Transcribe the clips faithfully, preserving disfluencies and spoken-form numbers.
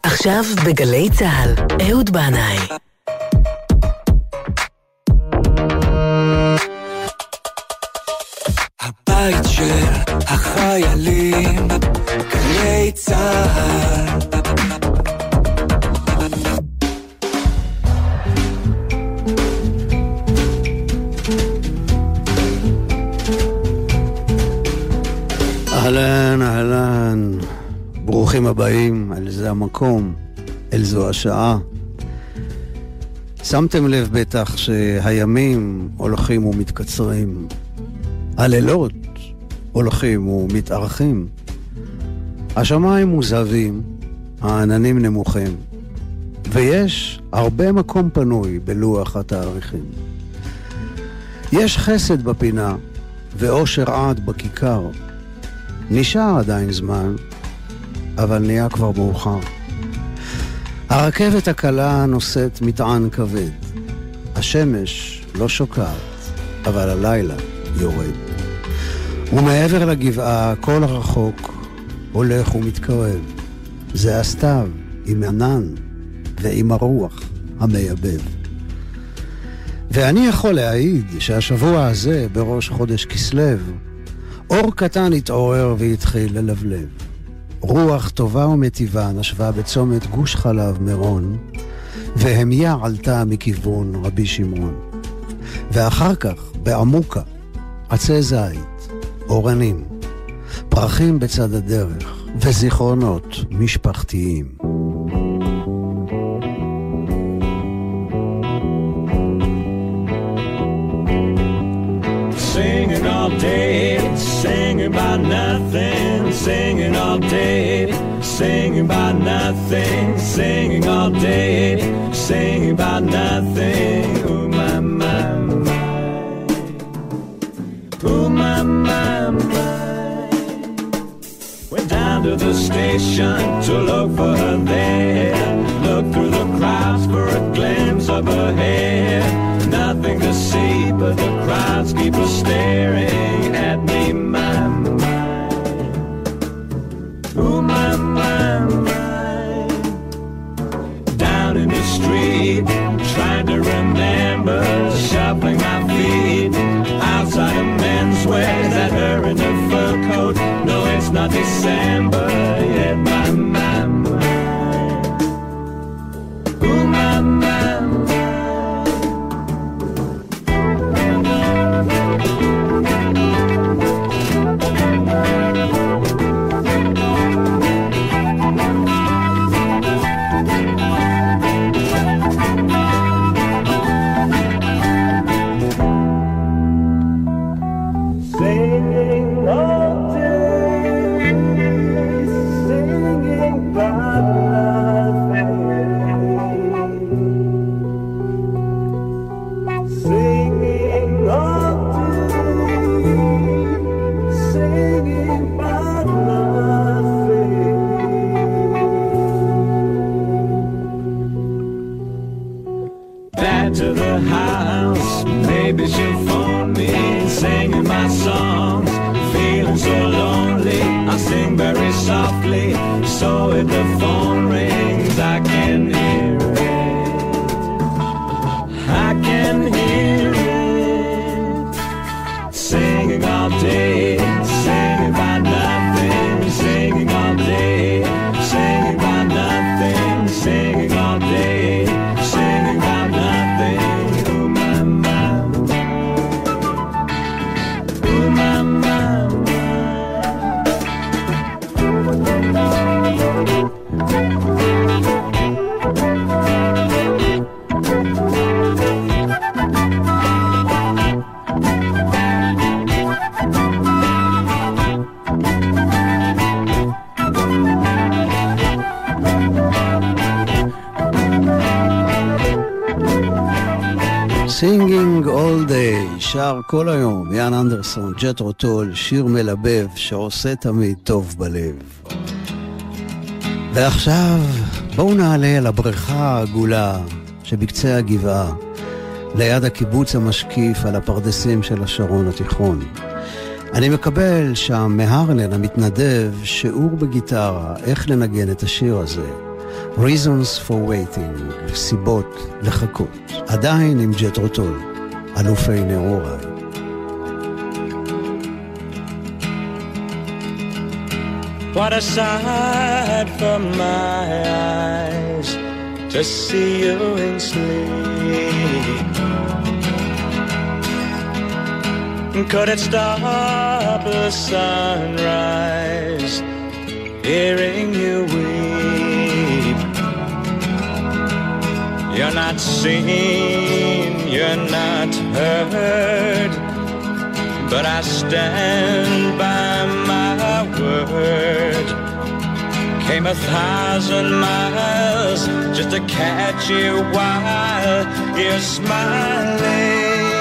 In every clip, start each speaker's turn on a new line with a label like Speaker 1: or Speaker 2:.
Speaker 1: עכשיו בגלי צהל, אהוד בנאי.
Speaker 2: הבית של החיילים, גלי צהל.
Speaker 3: אהלן, אהלן, ברוכים הבאים, אל זה המקום, אל זו השעה. שמתם לב בטח שהימים הולכים ומתקצרים, הלילות הולכים ומתארכים, השמיים מוזהבים, העננים נמוכים, ויש הרבה מקום פנוי בלוח התאריכים. יש חסד בפינה ואושר עד בכיכר, נשאר עדיין זמן, אבל נהיה כבר מאוחר. הרכבת הקלה נושאת מטען כבד. השמש לא שוקעת, אבל הלילה יורד. ומעבר לגבעה, כל הרחוק הולך ומתקרב. זה הסתיו עם ענן ועם הרוח המייבב. ואני יכול להעיד שהשבוע הזה, בראש חודש כסלב, אור קטן התעורר והתחיל ללבלב. רוח טובה ומטיבה נשבה בצומת גוש חלב מירון, והמיה עלתה מכיוון רבי שמרון. ואחר כך, בעמוקה, עצי זית, אורנים, פרחים בצד הדרך, וזיכרונות משפחתיים.
Speaker 4: Singing all day, singing about nothing, singing all day, singing about nothing, singing all day, singing about nothing. Oh my, my, my. Oh my, my, my. Went down to the station to look for her there. Look through the crowds for a glimpse of her hair. Nothing to see but the crowds keep on staring at me, my, my. Oh my, my, my. Down in the street, trying to remember, shuffling my feet. Outside of menswear, is that her in her fur coat? No, it's not December yet, my, my, my. Oh my, my, my.
Speaker 3: Singing all day, שר כל היום, יאן אנדרסון, ג'תרו טול, שיר מלבב שעושה תמיד טוב בלב. ועכשיו בואו נעלה על הבריכה העגולה שבקצה הגבעה, ליד הקיבוץ המשקיף על הפרדסים של השרון התיכון. אני מקבל שם מהרלן המתנדב שיעור בגיטרה, איך לנגן את השיר הזה. Reasons for waiting, סיבות לחכות. עדיין עם ג'תרו טול, אלופי נעוריי.
Speaker 4: What a sight for my eyes to see you in sleep. Could it stop the sunrise, hearing you weep? You're not seen, you're not heard, but I stand by my word. Came a thousand miles just to catch you while you're smiling.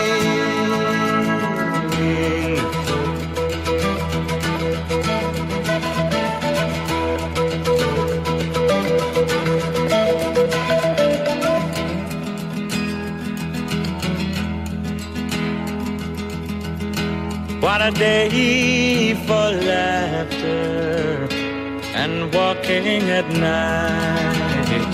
Speaker 4: What a day for laughter and walking at night.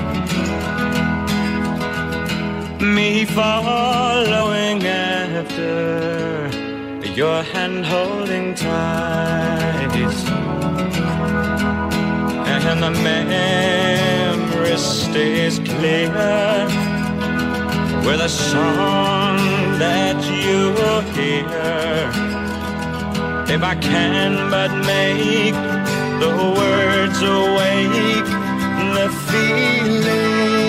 Speaker 4: Me following after, your hand holding tight. And the memory stays clear with a song that you hear. If I can but make the words awake the feeling.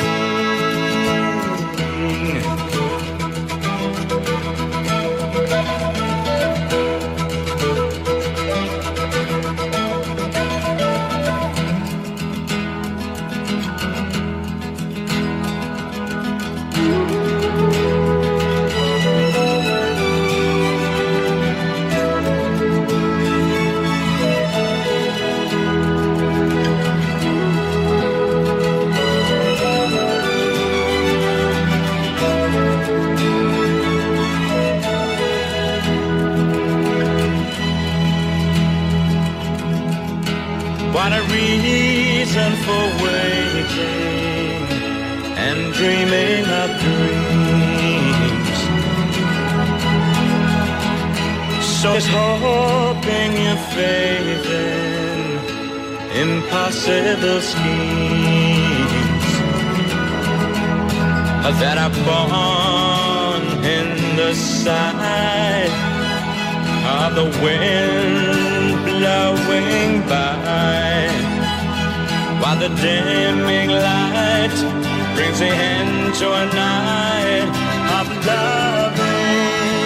Speaker 4: What a reason for waiting and dreaming of dreams. So it's hoping your faith in impossible schemes that are born in the sight of the wind blowing by, while the dimming light brings the end to a night of loving.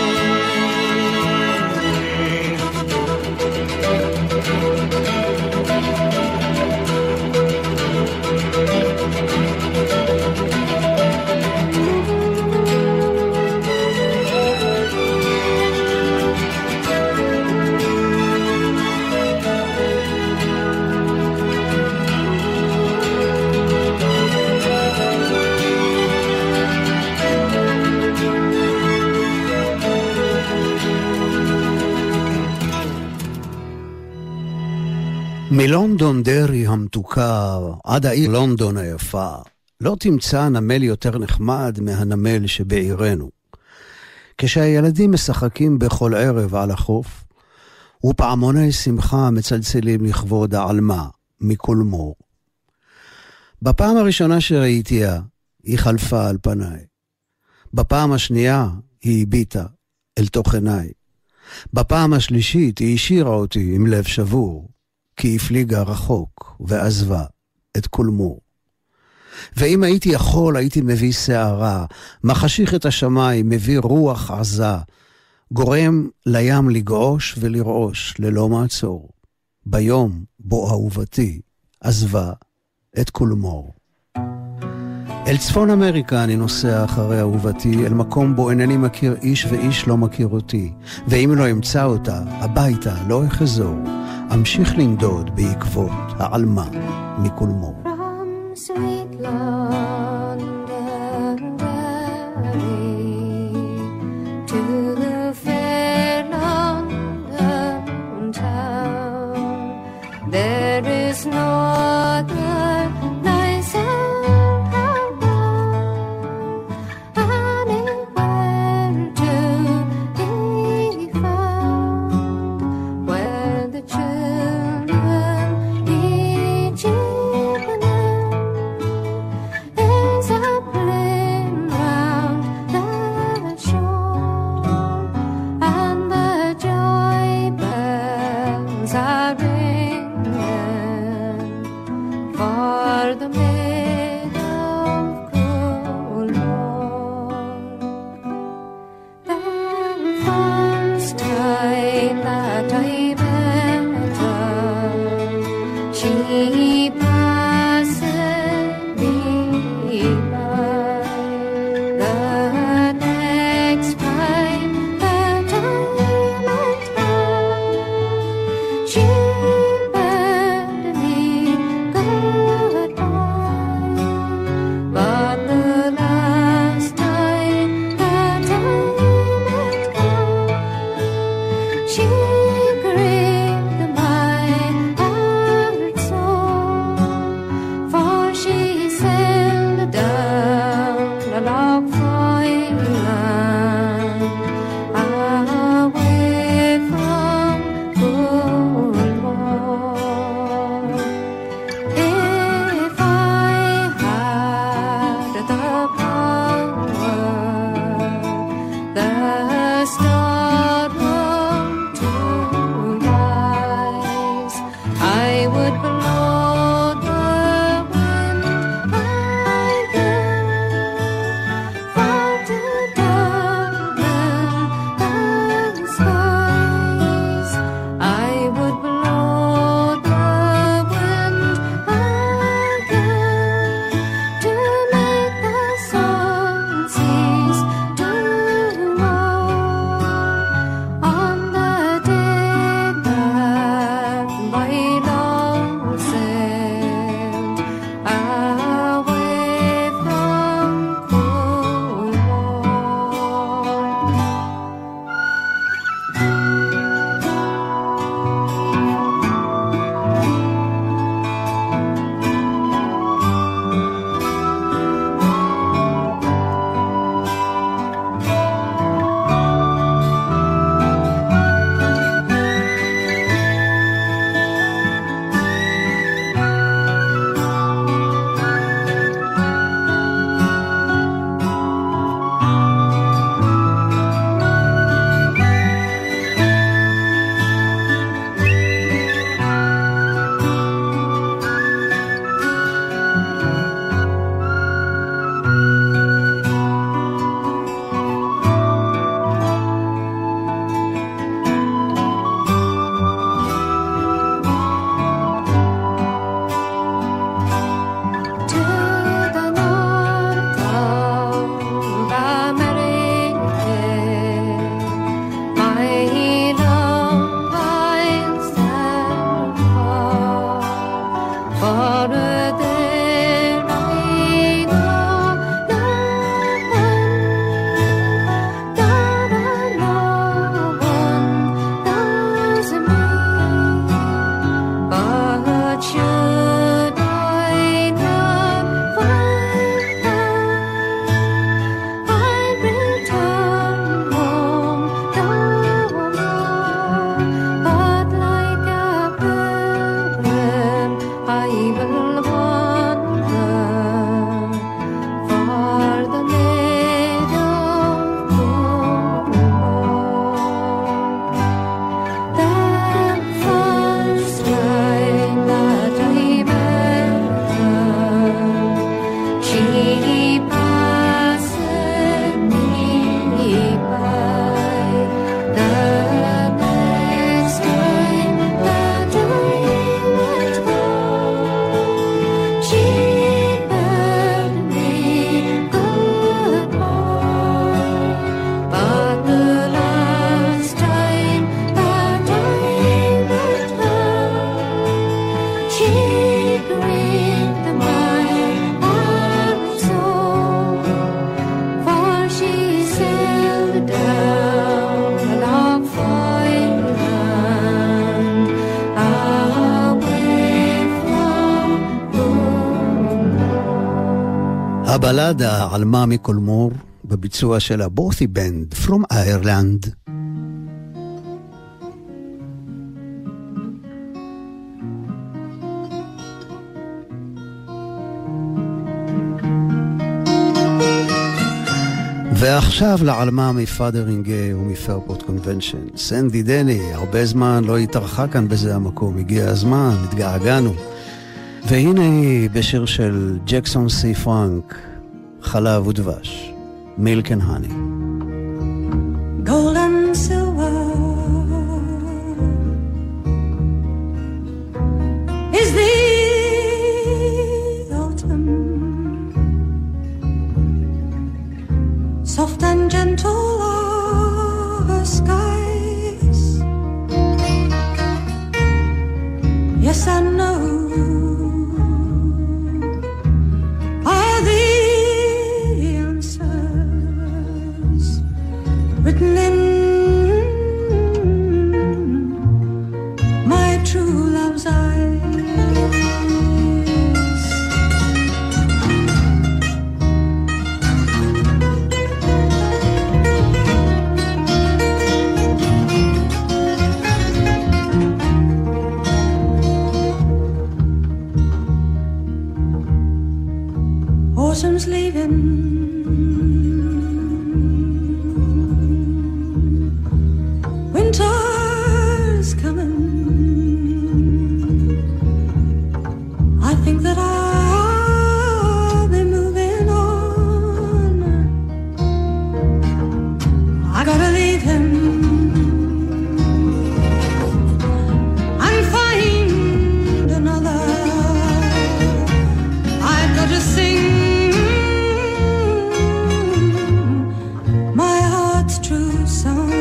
Speaker 3: מלונדון דרי המתוקה עד העיר לונדון היפה, לא תמצא נמל יותר נחמד מהנמל שבעירנו. כשהילדים משחקים בכל ערב על החוף, ופעמוני שמחה מצלצלים לכבוד העלמה מכל מור. בפעם הראשונה שראיתיה, היא חלפה על פניי. בפעם השנייה, היא הביטה אל תוך עיניי. בפעם השלישית, היא השאירה אותי עם לב שבור, כי הפליגה רחוק ועזבה את כל מור. ואם הייתי יכול, הייתי מביא שערה, מחשיך את השמיים, מביא רוח עזה, גורם לים לגעוש ולרעוש ללא מעצור, ביום בו אהובתי עזבה את כל מור. אל צפון אמריקה אני נוסע אחרי אהובתי, אל מקום בו אינני מכיר איש ואיש לא מכיר אותי, ואם לא אמצא אותה, הביתה לא אחזור, אמשיך לנדוד בעקבות העלמה מכל מור.
Speaker 5: From sweet London Valley to the fair London town, there is no other for the maid of cool Lord. The first time that I met her, she passed me by. The next time that I met her, she bade me goodbye. But the last time that I met her, she gripped my heart so, for she sailed down a log island, away from Cornwall. If I had the power, the stardom to rise, I would blow the wind again, far to darken the skies. I would blow the wind again, to make the sun cease to roll on the day that my love sailed away from to the north of America, my love I'll stand for, for there I know no one, God alone knows me. But should I not find her, I'll return home no more. But like a pilgrim, I will wander for the maid of Cornwall. The first time that I met her, she passed me by. The next time that I met her, she bade me goodbye. But the last time that I met her, she gripped my heart so, for she sailed down a log island, away from Cornwall.
Speaker 3: הבלדה על מאמי קולמור בביצוע של הבורתי בנד From Ireland. ועכשיו לעלמה מפאדרינגי ומפרפורט קונבנשן. סנדי דני, הרבה זמן לא התארחה כאן בזה המקום, הגיע הזמן, התגעגענו. והנה היא בשיר של ג'קסון סי פרנק, חלב ודבש, Milk and Honey.
Speaker 5: Gold and silver is the autumn, soft and gentle are her skies. Yes, I know are the answers written in my true love's eyes. Autumn's leaving, winter's coming. I think that I'll be moving on. I gotta leave him and find another. I've got to sing my heart's true song.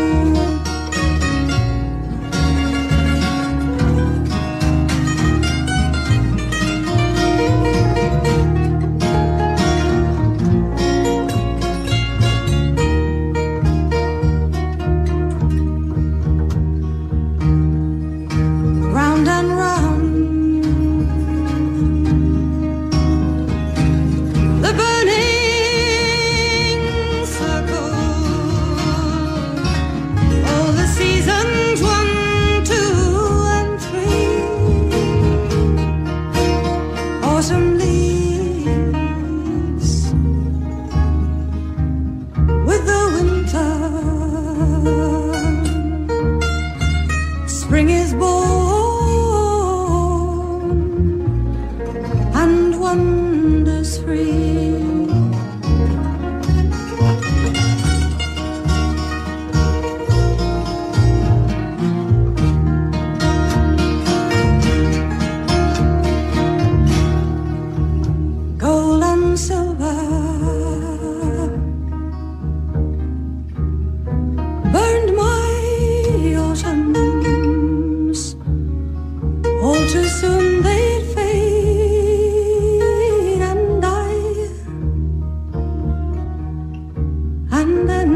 Speaker 5: Round and round the burning circle, all the seasons, one, two, and three. Autumn leaves with the winter. Spring is born and wonders free. Gold and silver burned my autumns. All too soon they'd fade and die. And then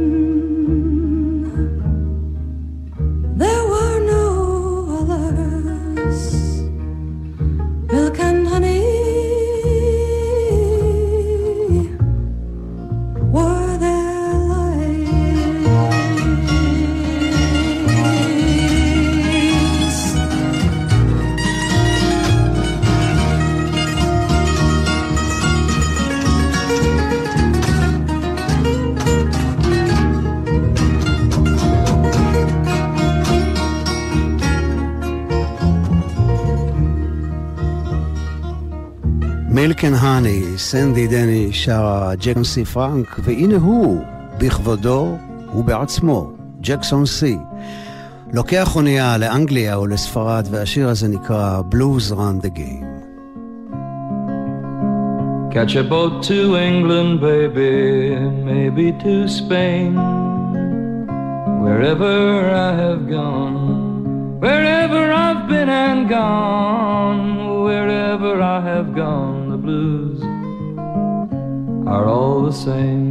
Speaker 5: there were no others. Milk and honey were their lives.
Speaker 3: Milk and Honey, סנדי דני שרה ג'קסון סי פרנק, והנה הוא, בכבודו ובעצמו, ג'קסון סי. לוקח אונייה לאנגליה או לספרד, והשיר הזה נקרא Blues Run the Game.
Speaker 6: Catch a boat to England, baby, maybe to Spain. Wherever I have gone, wherever I've been and gone, wherever I have gone, the blues are all the same.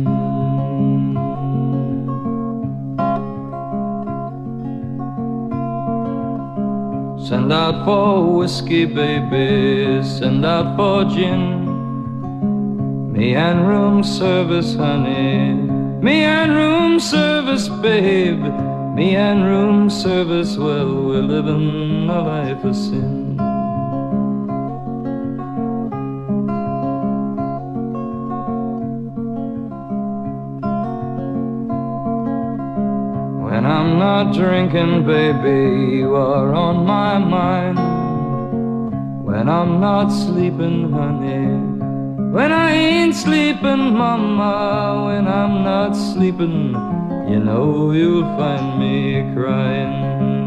Speaker 6: Send out for whiskey, baby, send out for gin. Me and room service, honey, me and room service, babe. Me and room service, well, we're living a life of sin. When I'm not drinking, baby, you are on my mind. When when I'm not sleeping, honey. When I ain't sleeping, mama, when I'm not sleeping, you know you'll find me crying.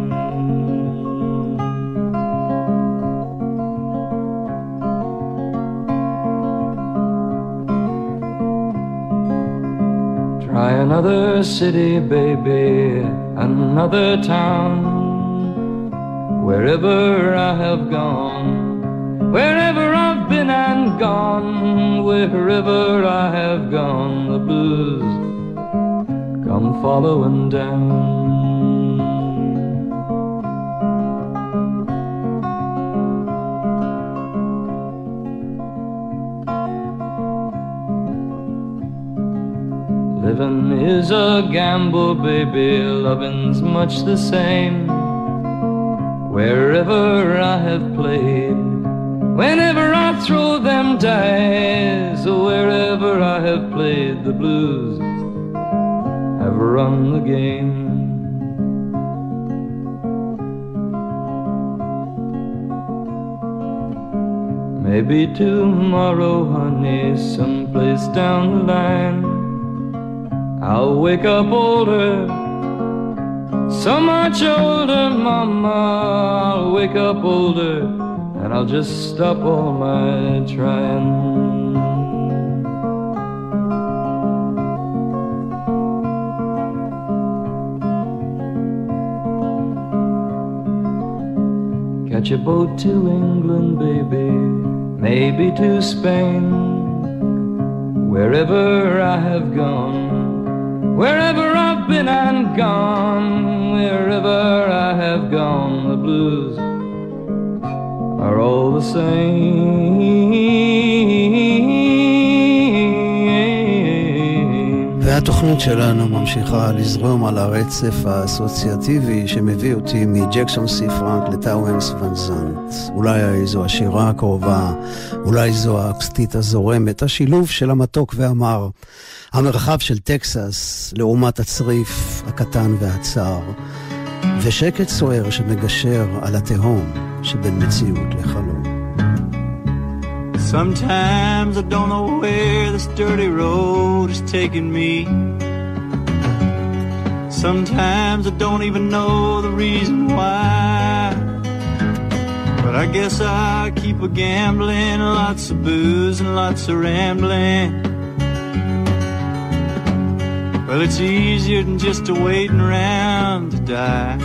Speaker 6: Try another city, baby, another town. Wherever I have gone, wherever I've been and gone, wherever I have gone, the blues come following down. Living is a gamble, baby, loving's much the same. Wherever I have played, whenever I throw them dice, wherever I have played, the blues have run the game. Maybe tomorrow, honey, someplace down the line, I'll wake up older, so much older, mama. I'll wake up older, and I'll just stop all my trying. Catch a boat to England, baby, maybe to Spain. Wherever I have gone, wherever I've been and gone, wherever I have gone, the blues are all the same.
Speaker 3: והתוכנית שלנו ממשיכה לזרום על הרצף האסוציאטיבי שמביא אותי מג'קסון סי פרנק לטאואנס ון זנט. אולי זו השירה הקרובה, אולי זו האקסטית הזורמת, השילוב של המתוק והמר, המרחב של טקסס לעומת הצריף הקטן והצר, ושקט סוער שמגשר על התהום שבין מציאות לחלום.
Speaker 7: Sometimes I don't know where this dirty road is taking me. Sometimes I don't even know the reason why. But I guess I keep a gambling, lots of booze and lots of rambling. Well, it's easier than just a waiting around to die.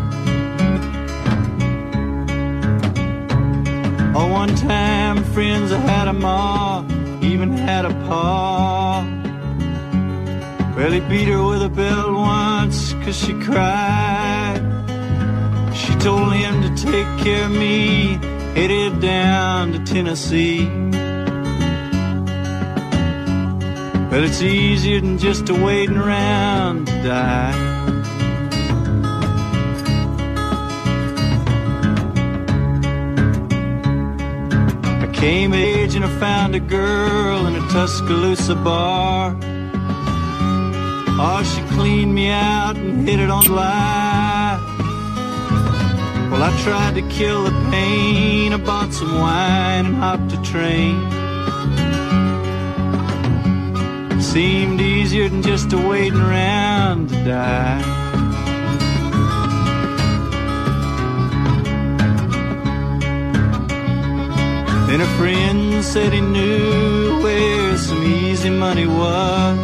Speaker 7: Oh, one time, friends, I had a ma, even had a pa. Well, he beat her with a belt once, 'cause she cried. She told him to take care of me, headed down to Tennessee. But it's easier than just a waiting around to die. I came of age and I found a girl in a Tuscaloosa bar. Oh, she cleaned me out and hit it on the line. Well, I tried to kill the pain. I bought some wine and hopped a train. Seemed easier than just a waiting around to die. Then a friend said he knew where some easy money was.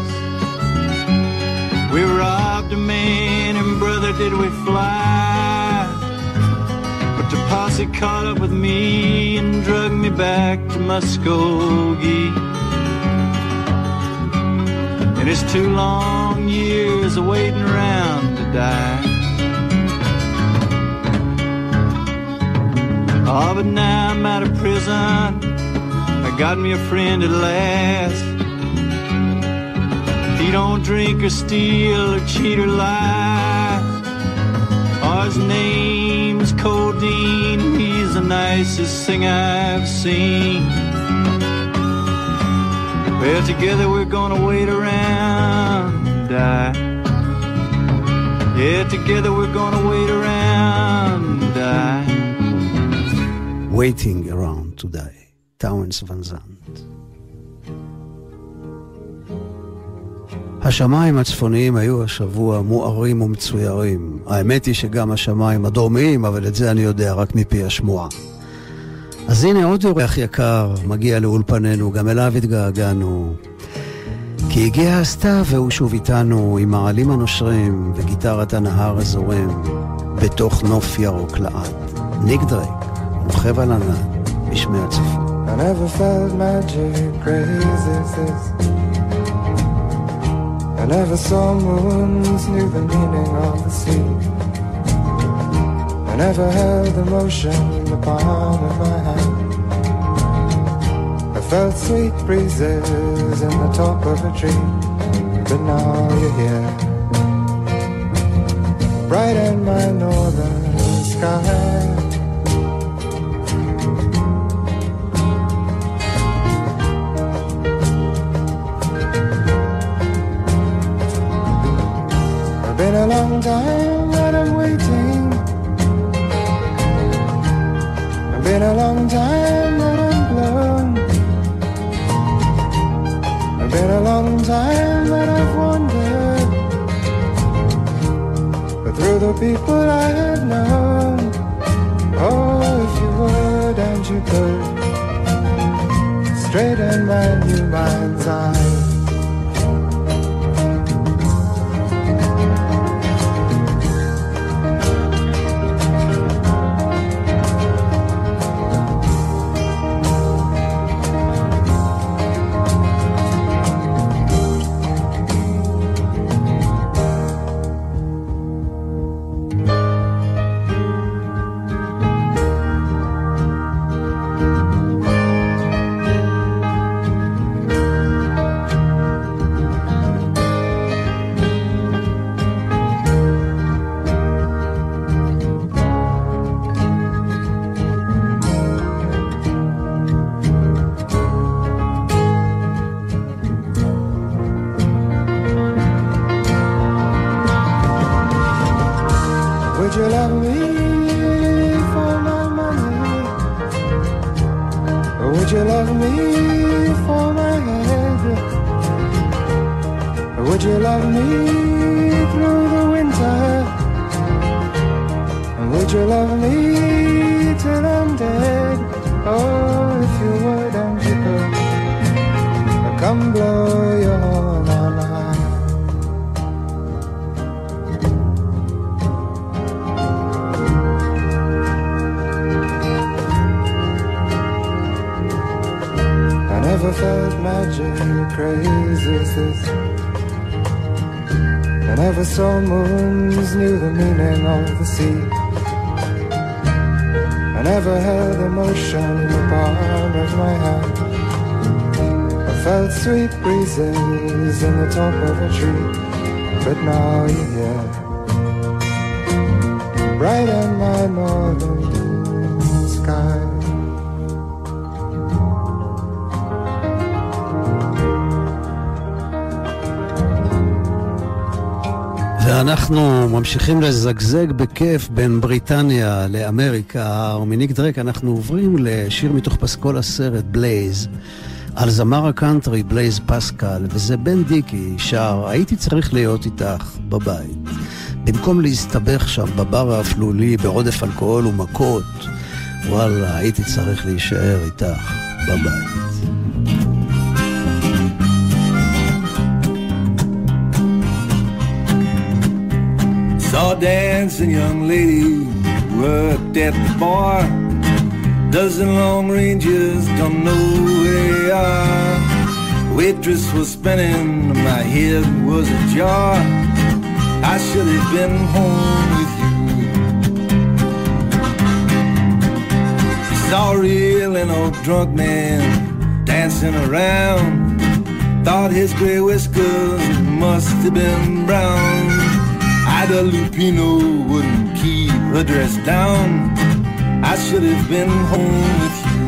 Speaker 7: We robbed a man and brother did we fly. But the posse caught up with me and drugged me back to Muskogee. And it's two long years of waiting around to die. Oh, but now I'm out of prison, I got me a friend at last. He don't drink or steal or cheat or lie. Oh, his name's Codeine, he's the nicest thing I've seen. Well, together we're gonna wait around and die. Yeah, together we're gonna wait around and die.
Speaker 3: Waiting around. to Die, טאונס ון זנט. השמיים הצפוניים היו השבוע מוארים ומצוירים. האמת היא שגם השמיים הדרומיים, אבל את זה אני יודע רק מפי השמועה. אז הנה עוד אורח יקר מגיע לאולפנינו, גם אליו התגעגענו. כי הגיע הסתיו והוא שוב איתנו עם העלים הנושרים וגיטרת הנהר הזורם בתוך נוף ירוק לעד. ניק דרייק, רוכב על ענן בשמי הצפון.
Speaker 8: I never felt magic crazy as this. I never saw moons, knew the meaning of the sea. I never held emotion in the palm of my hand. I felt sweet breezes in the top of a tree. But now you're here, bright in my northern sky. Been a long time that I'm waiting. It's been a long time that I'm blown. It's been a long time that I've wandered, but through the people I have known. Oh, if you would and you could straighten my new mind's eye. Saw moons, knew the meaning of the sea. I never held emotion in the palm of my hand. I felt sweet breezes in the top of a tree. But now you're here, bright in my northern sky.
Speaker 3: ואנחנו ממשיכים לזגזג בכיף בין בריטניה לאמריקה, ומניק דרק אנחנו עוברים לשיר מתוך פסקול הסרט בלייז, על זמר הקאנטרי בלייז פסקל, וזה בן דיקי שר הייתי צריך להיות איתך בבית. במקום להסתבך שם בבר האפלולי בעודף אלכוהול ומכות, וואלה, הייתי צריך להישאר איתך בבית.
Speaker 2: Saw a dancing young lady worked at the bar. Dozen long ranges, don't know where they are. Waitress was spinning, my head was ajar. I should have been home with you. Saw a real and old drunk man dancing around. Thought his gray whiskers must have been brown. Ida Lupino wouldn't keep her dress down. I should have been home with you.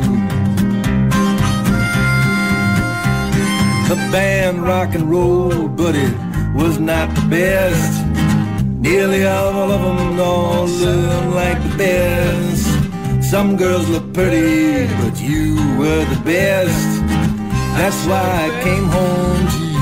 Speaker 2: The band rock and roll, but it was not the best. Nearly all of them all looked like the best. Some girls look pretty, but you were the best. That's why I came home to you.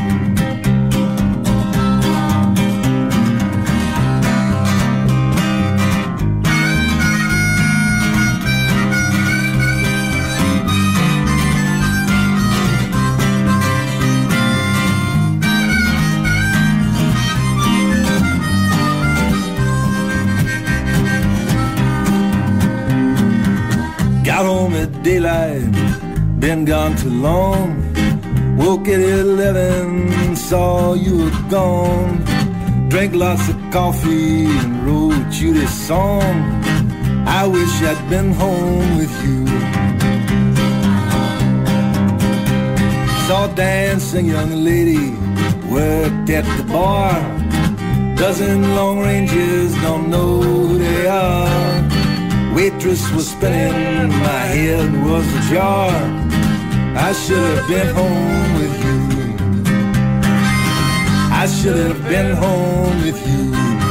Speaker 2: Got home at daylight, been gone too long. Woke at eleven, saw you were gone. Drank lots of coffee and wrote you this song. I wish I'd been home with you. Saw a dancing young lady, worked at the bar. Dozen long rangers, don't know who they are. Waitress was spinning, my head was ajar. I should have been home with you. I should have been home with you.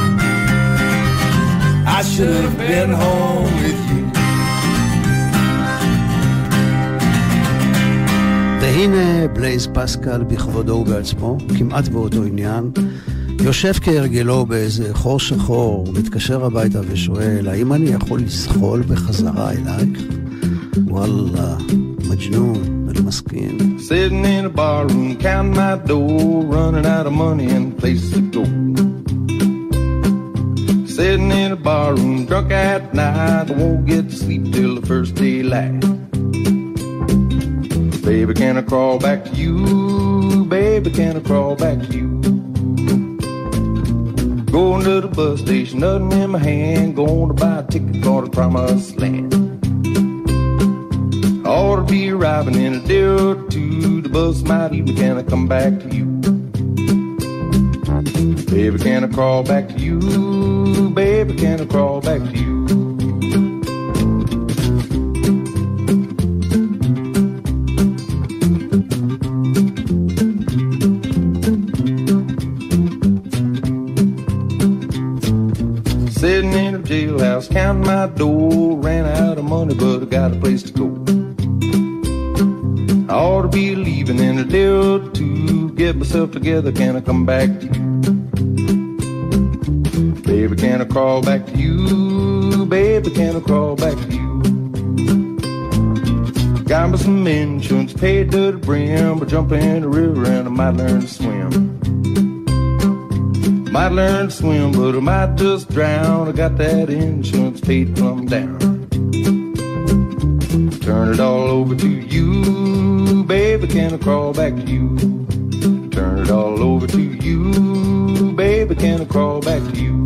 Speaker 2: I should have been home with you.
Speaker 3: והנה בלייז פסקל בכבודו ובעצמו, כמעט באותו עניין, יושב כהרגלו באיזה חור שחור, מתקשר הביתה ושואל, האם אני יכול לסחול בחזרה אלייך? וואלה, מג'נון, אני מסכים.
Speaker 9: Sitting in a bar room, counting my dough, running out of money and place to go. Sitting in a bar room, drunk at night, I won't get to sleep till the first daylight. Baby, can I crawl back to you? Baby, can I crawl back to you? Going to the bus station, nothing in my hand, going to buy a ticket for the promised land. I ought to be arriving in a day or two, the bus might even, can I come back to you? Baby, can I crawl back to you? Baby, can I crawl back to you? Sitting in a jailhouse, counting my dough, ran out of money, but I got a place to go. I ought to be leaving in a day or two, get myself together, can I come back to you? Baby, can I crawl back to you? Baby, can I crawl back to you? Got me some insurance, paid to the brim, but jump in the river and I might learn to swim. Might learn to swim, but I might just drown. I got that insurance paid plumb down. Turn it all over to you, baby, can I crawl back to you? Turn it all over to you, baby, can I crawl back to you?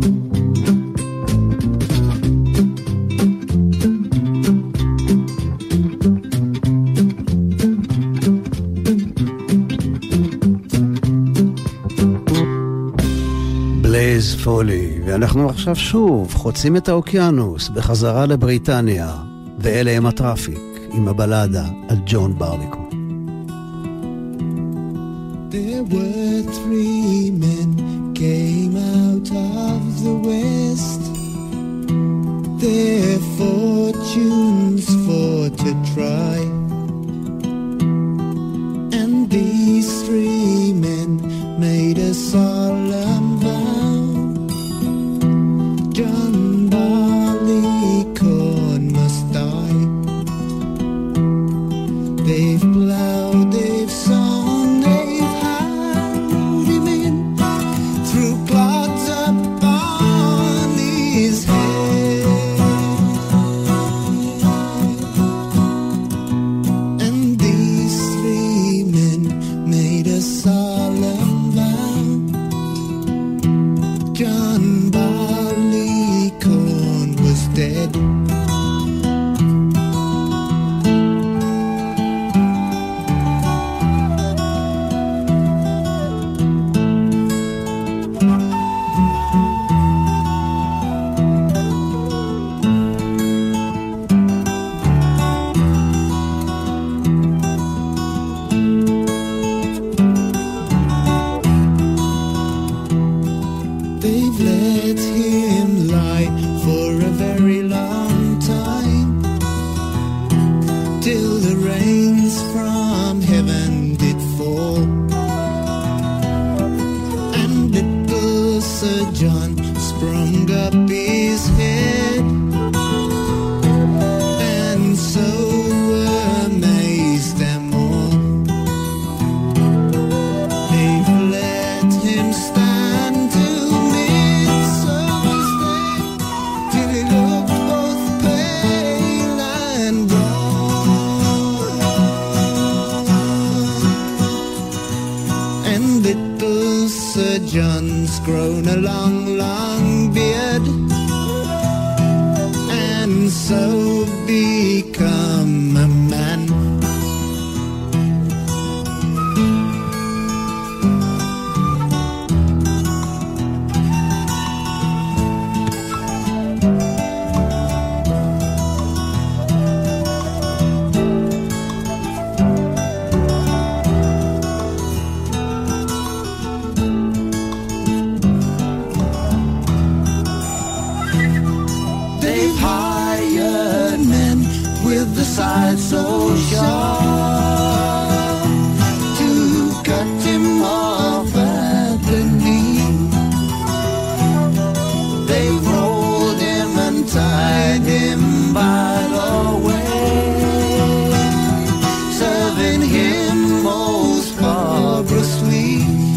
Speaker 3: בלייז פולי, ואנחנו עכשיו שוב חוצים את האוקיינוס בחזרה לבריטניה, ואלה הם הטראפיק עם הבלדה על ג'ון ברליקו.
Speaker 10: There were three men came out of the west, their fortunes for to try, and these three men made a solemn vow. John Barleycorn must die. They've plowed, they've sown, they've harrowed him in through clods upon his head. And these three men made a solemn vow. John Barleycorn was dead. rains from heaven did fall, and little Sir John sprung up his head, and so amazed them all. They've let him stand till midsummer's day, till he looked both pale and drawn. And little Sir John's grown a long, long beard, and so become a man. They've hired men with the side so sharp to cut him off at the knee. They rolled him and tied him by the way, serving him most barbarously.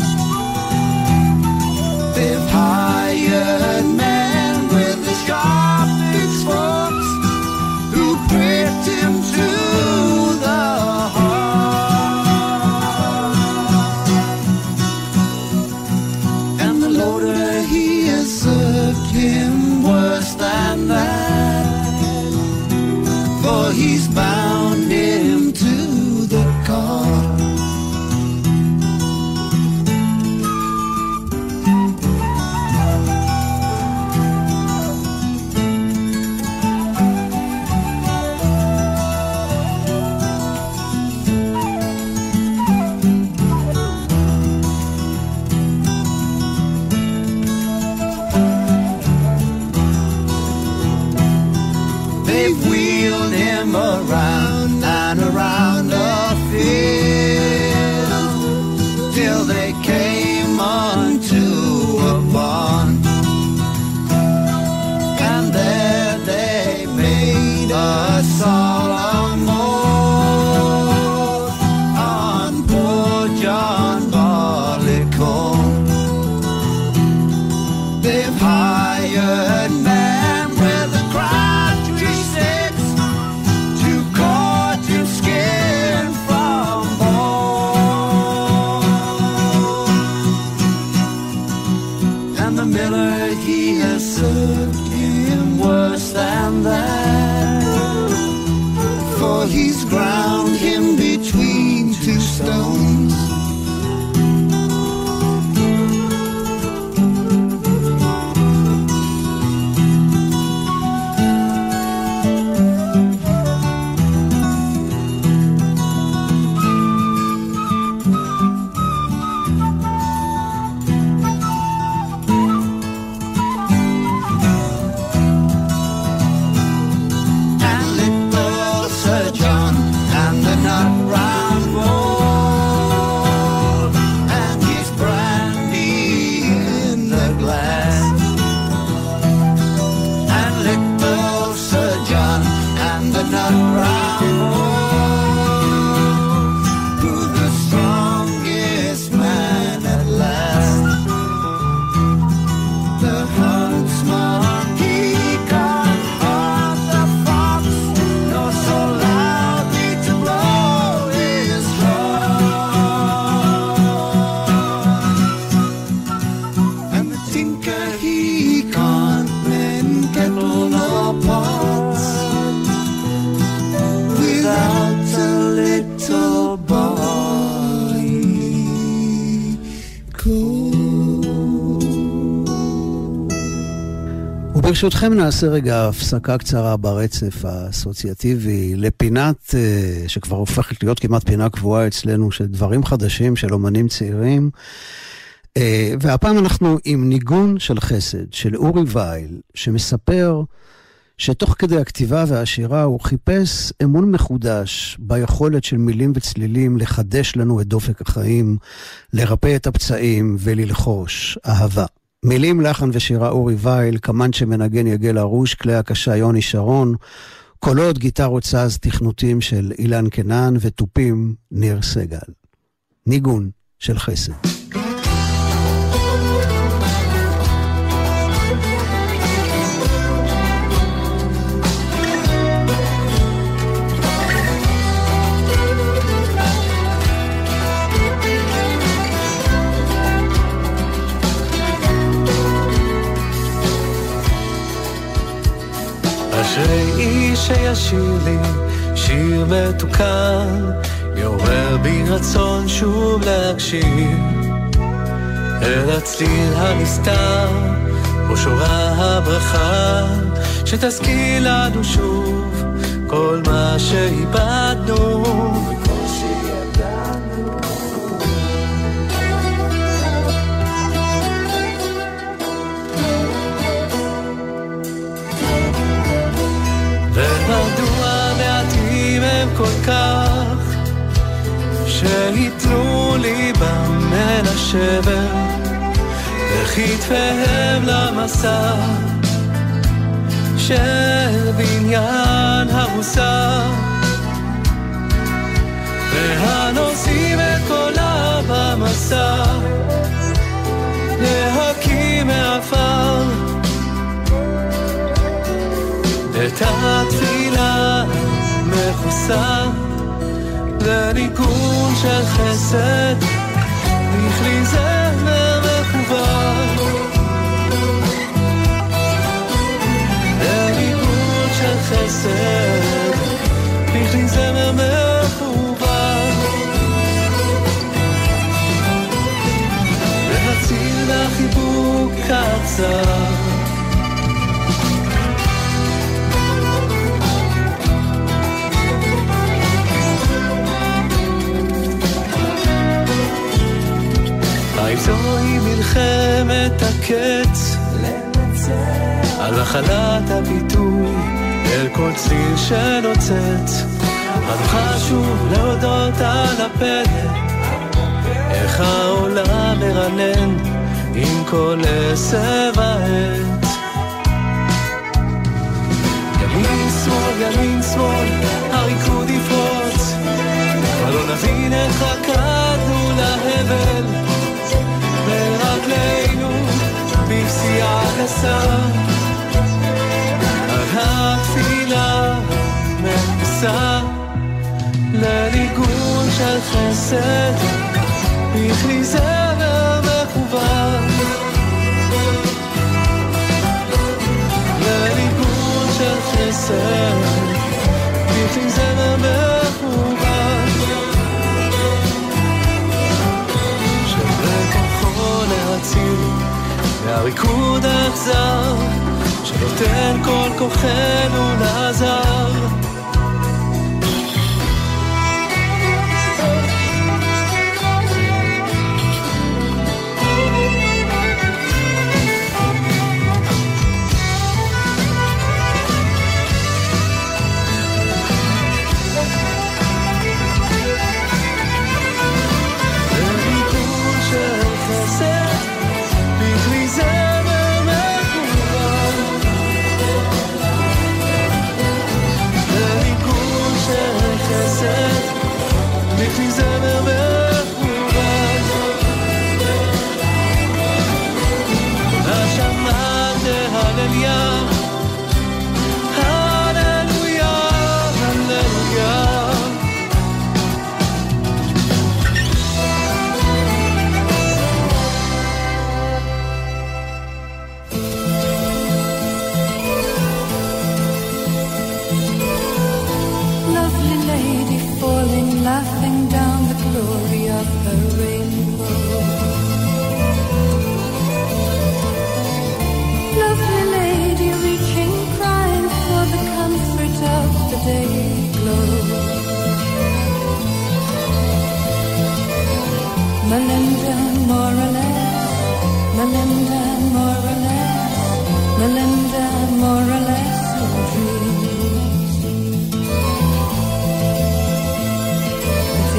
Speaker 10: They've hired men with the sharp pitchforks who pricked him to the heart. And the loader, he has served him worse than that, for he's bound him to the car. They've wheeled him around and around the field till they came onto a barn, and there they made a solemn oath on poor John Barleycorn. They've hired men with a crabtree six to cut him skin from bone. And the miller, he has served him worse than that, for he's ground him between two stones. And little Sir John and the nut round bowl, and his brandy in the glass. And little Sir John and the nut round bowl, who the strongest man at last. The huntsman, he got on the fox, nor so loudly to blow his horn. And the tinker, he can't mend kettle nor pots without a little barleycorn.
Speaker 3: וברשותכם נעשה רגע הפסקה קצרה ברצף האסוציאטיבי לפינת אה, שכבר הופכת להיות כמעט פינה קבועה אצלנו של דברים חדשים של אומנים צעירים. אה, והפעם אנחנו עם ניגון של חסד של אורי וייל, שמספר שתוך כדי הכתיבה והשירה הוא חיפש אמון מחודש ביכולת של מילים וצלילים לחדש לנו את דופק החיים, לרפא את הפצעים וללחוש אהבה. מילים, לחן ושירה אורי וייל, כמן שמנגן יגל הרוש, כלי הקשה יוני שרון, קולות, גיטרות סאז, תכנותים של אילן קנן וטופים ניר סגל. ניגון של חסד.
Speaker 11: אשרי איש שישיר לי שיר מתוקן, יעורר בי רצון שוב להקשיב אל הצליל הנסתר או שורה הברכה, שתזכיר לנו שוב כל מה שאיבדנו וכל שידענו. ומדוע מעטים הם כל כך שיתנו ליבם מן השבר וכתפיהם למסע של בניין הרוסה, והנושאים את קולה במסע להקים מעפר את התפילה מכוסה לניגון של חסד בכלי זמר מכוון, לניגון של חסד בכלי זמר מכוון, להציל לחיבוק קצר זוהי מלחמת הקץ על החלת הביטוי אל כל צליל שנוצץ, אנו חשוב להודות על הפלא איך העולם מרנן עם כל עשב העץ. ימין שמאל ימין שמאל הריקוד יפרוץ, אבל לא נבין איך רקדנו להבל ברגלינו בפסיעה גסה, על התפילה מכוסה לניגון של חסד בכלי זמר מכוון, לניגון של חסד בכלי זמר מכוון, להציל מהריקוד האכזר שנותן כל כוחנו לעזר.
Speaker 5: Laughing down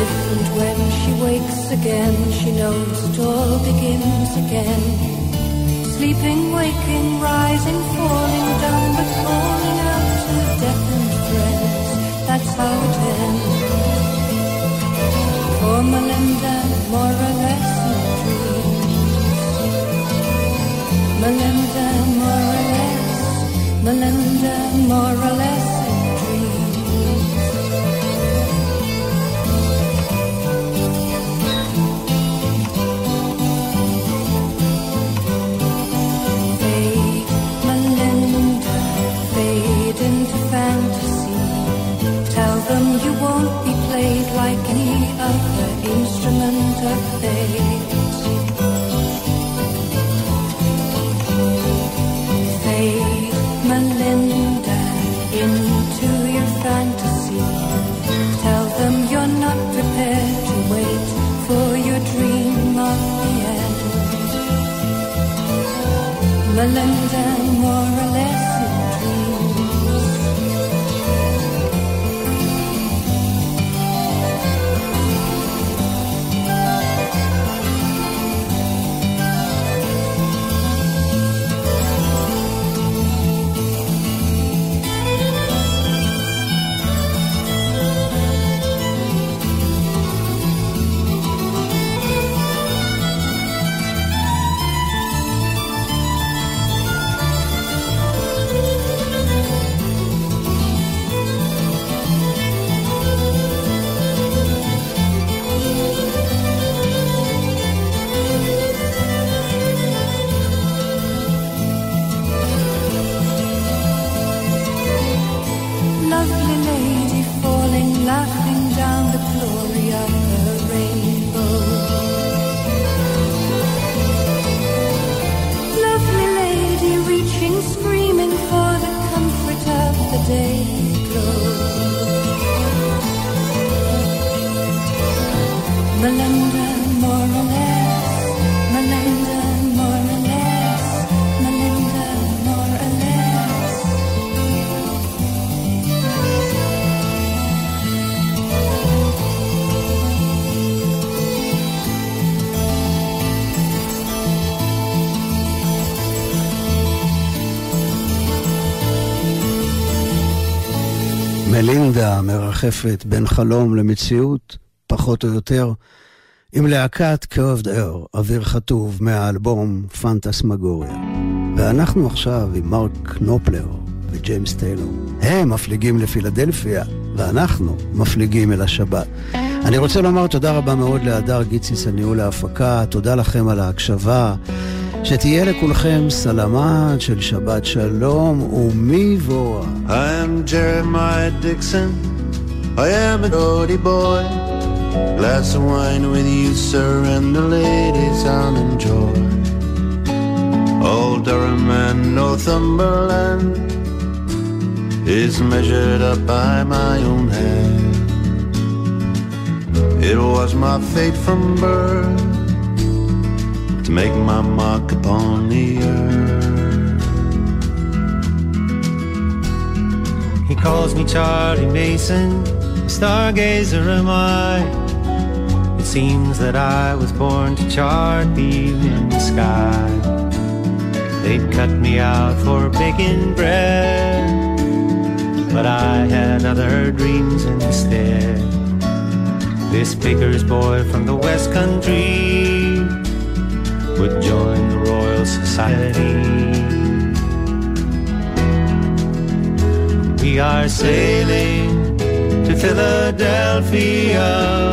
Speaker 12: different when she wakes again. She knows it all begins again. Sleeping, waking, rising, falling down, but falling out to death and friends. That's how it ends. For Melinda, more or less in dreams. Melinda, more or less. Melinda, more or less in dreams. Fade, Melinda, fade into fantasy. Tell them you won't be played like any other instrument of fate. Fade, Melinda, into your fantasy. Tell them you're not prepared to wait for your dream of the end. Melinda, more or less in dreams. Lovely lady falling, laughing down the glory of the rainbow. Lovely lady reaching, screaming for the comfort of the dayglow. Melinda, more or less. Melinda, more or less. Melinda, more or less.
Speaker 3: מלינדה מרחפת בין חלום למציאות, פחות או יותר, עם להקת קרבד אר, אוויר חטוב מהאלבום פנטסמגוריה. ואנחנו עכשיו עם מרק נופלר וג'יימס טיילור. הם מפליגים לפילדלפיה, ואנחנו מפליגים אל השבת. אני רוצה לומר תודה רבה מאוד להדר גיציס הניהול ההפקה, תודה לכם על ההקשבה, שתהיה לכולכם סלמת של שבת שלום ומבואה.
Speaker 13: I am Jeremiah Dixon, I am a naughty boy. Glass of wine with you, sir, and the ladies I'll enjoy. Old Durham and Northumberland is measured up by my own hand. It was my fate from birth to make my mark upon the earth.
Speaker 14: He calls me Charlie Mason, stargazer am I. It seems that I was born to chart the evening sky. They'd cut me out for baking bread, but I had other dreams instead. This baker's boy from the West Country would join the Royal Society. We are sailing to Philadelphia,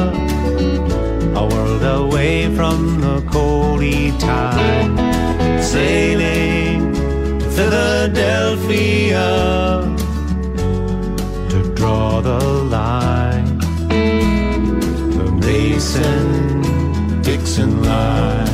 Speaker 14: a world away from the coldy tide. Sailing to Philadelphia to draw the line, the Mason-Dixon line.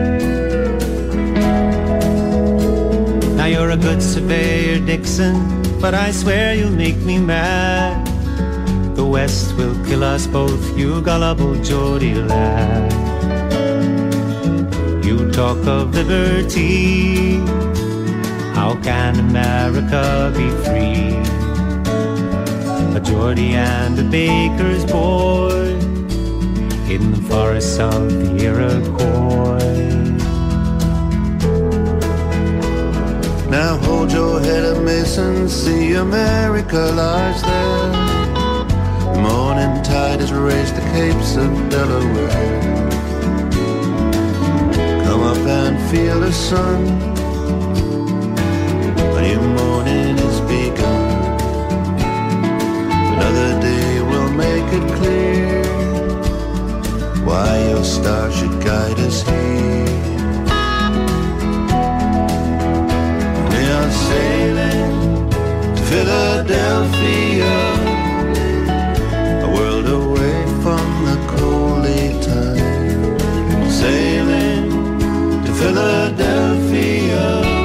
Speaker 14: Surveyor Dixon, but I swear you'll make me mad. The West will kill us both, you gullible Geordie lad. You talk of liberty, how can America be free? A Geordie and a baker's boy in the forests of the Iroquois.
Speaker 13: Now hold your head up, Mason, see America lies there. The morning tide has raised the capes of Delaware. Come up and feel the sun, a new morning is begun. Another day will make it clear why your star should guide us here. We are sailing to Philadelphia, a world away from the coaly time. Sailing to Philadelphia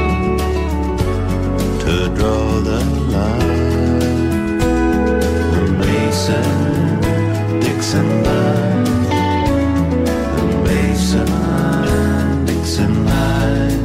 Speaker 13: to draw the line. The Mason-Dixon line, the Mason-Dixon line.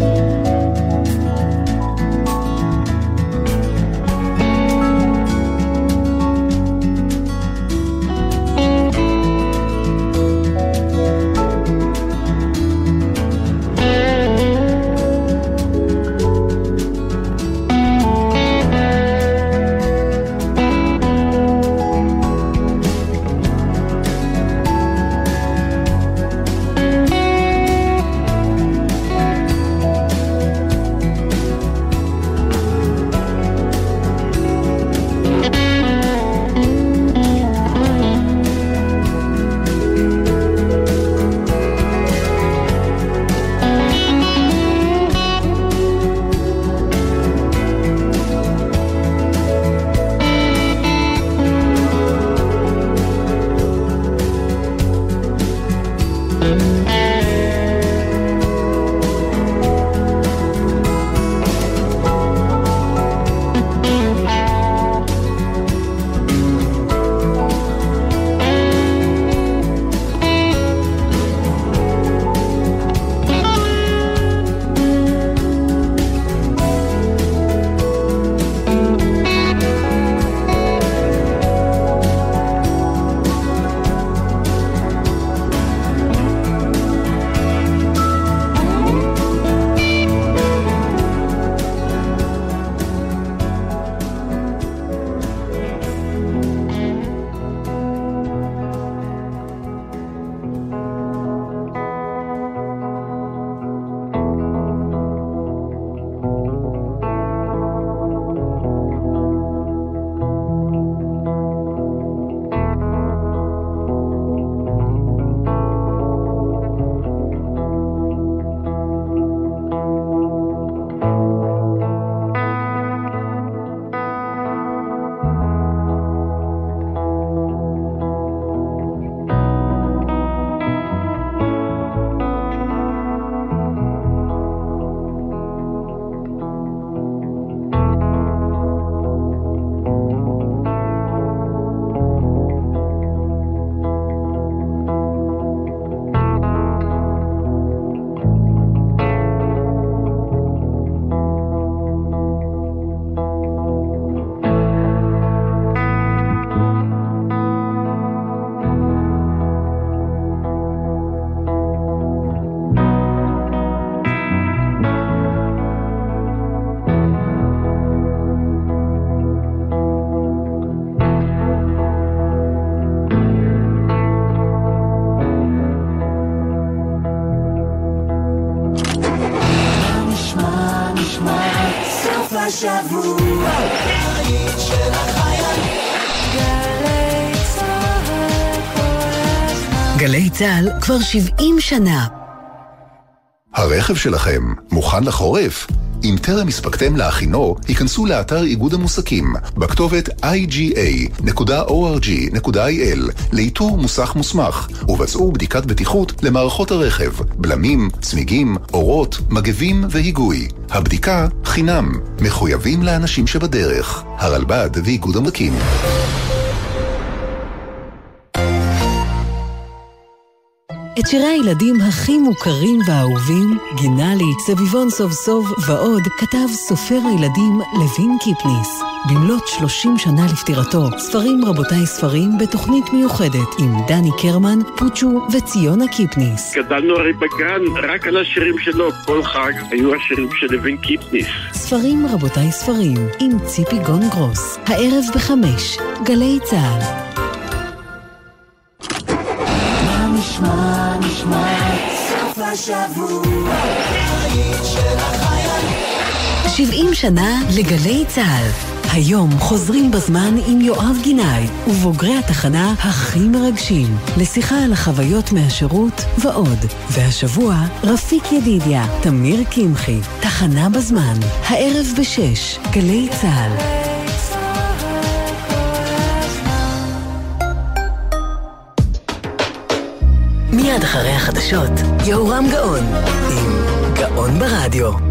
Speaker 10: השבוע היית של החיילים גלי צהל כל הזמן.
Speaker 1: גלי צהל כבר שבעים שנה.
Speaker 15: הרכב שלכם מוכן לחורף? אם טרם הספקתם להכינו, היכנסו לאתר איגוד המוסקים בכתובת איי ג'י איי נקודה או אר ג'י נקודה איי אל לאיתור מוסך מוסמך, ובצעו בדיקת בטיחות למערכות הרכב, בלמים, צמיגים, אורות, מגבים והיגוי. הבדיקה חינם, מחויבים לאנשים שבדרך. הרלב"ד ואיגוד המקים.
Speaker 1: את שירי הילדים הכי מוכרים והאהובים, גינה לי, סביבון סוף סוף ועוד, כתב סופר הילדים לוין קיפניס. במלאת שלושים שנה לפטירתו, ספרים רבותיי ספרים בתוכנית מיוחדת עם דני קרמן, פוצ'ו וציונה קיפניס.
Speaker 16: גדלנו הרי בגן רק על השירים שלו, כל חג היו השירים של לוין קיפניס.
Speaker 1: ספרים רבותיי ספרים עם ציפי גון גרוס, הערב בחמש, גלי צהל.
Speaker 10: נשמע, נשמע, סוף השבוע, היית של החייל.
Speaker 1: שבעים שנה לגלי צהל. היום חוזרים בזמן עם יואב גינאי ובוגרי התחנה הכי מרגשים לשיחה על החוויות מהשירות ועוד. והשבוע רפיק ידידיה, תמיר קמחי, תחנה בזמן, הערב בשש, גלי צהל. מיד אחרי החדשות, יהורם גאון עם גאון ברדיו.